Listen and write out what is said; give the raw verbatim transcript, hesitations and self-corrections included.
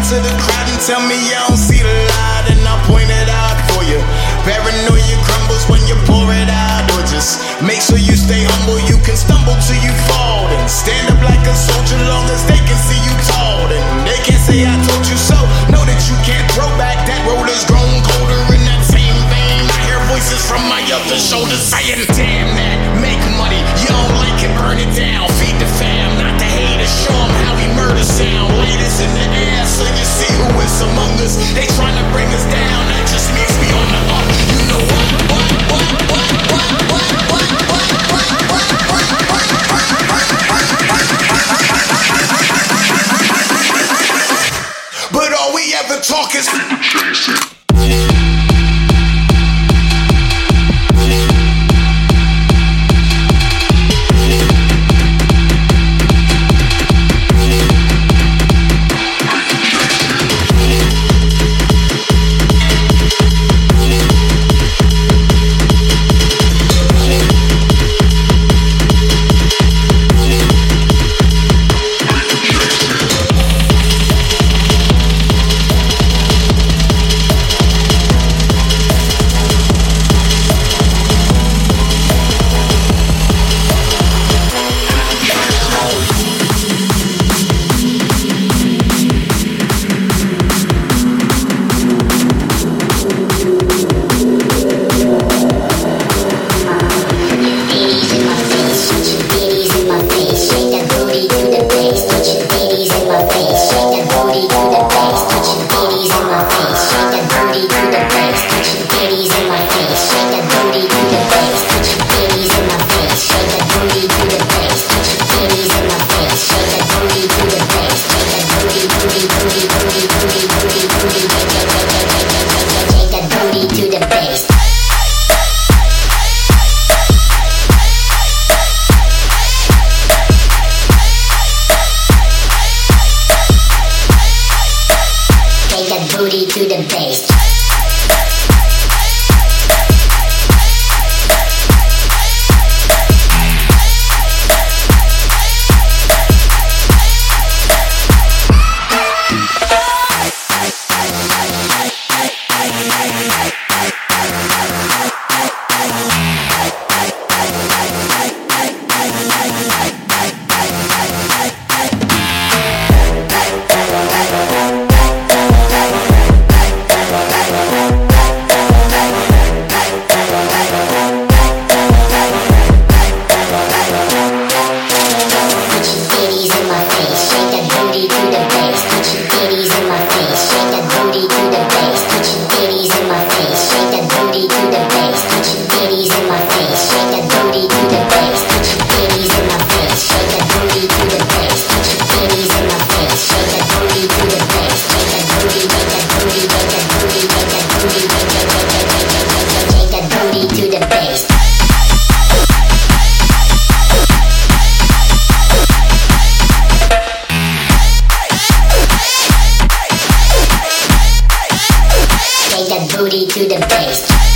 to the crowd and tell me you don't see the light, and I'll point it out for you. Paranoia crumbles when you pour it out, or just make sure you stay humble. You can stumble till you fall, and stand up like a soldier long as they can see you tall. And they can say I told you so. Know that you can't throw back. That road has grown colder in that same vein. I hear voices from my other shoulder saying, damn that, make money. You don't like it, burn it down. Feed the fam, not the haters. Show them how we murder sound. Latest in the air so you see who is among us. They trying to bring us down. That just means we on the up. You know what? What? What? What? What? What? What? What? What? What? But all we ever talk is people chasing. Booty to the bass.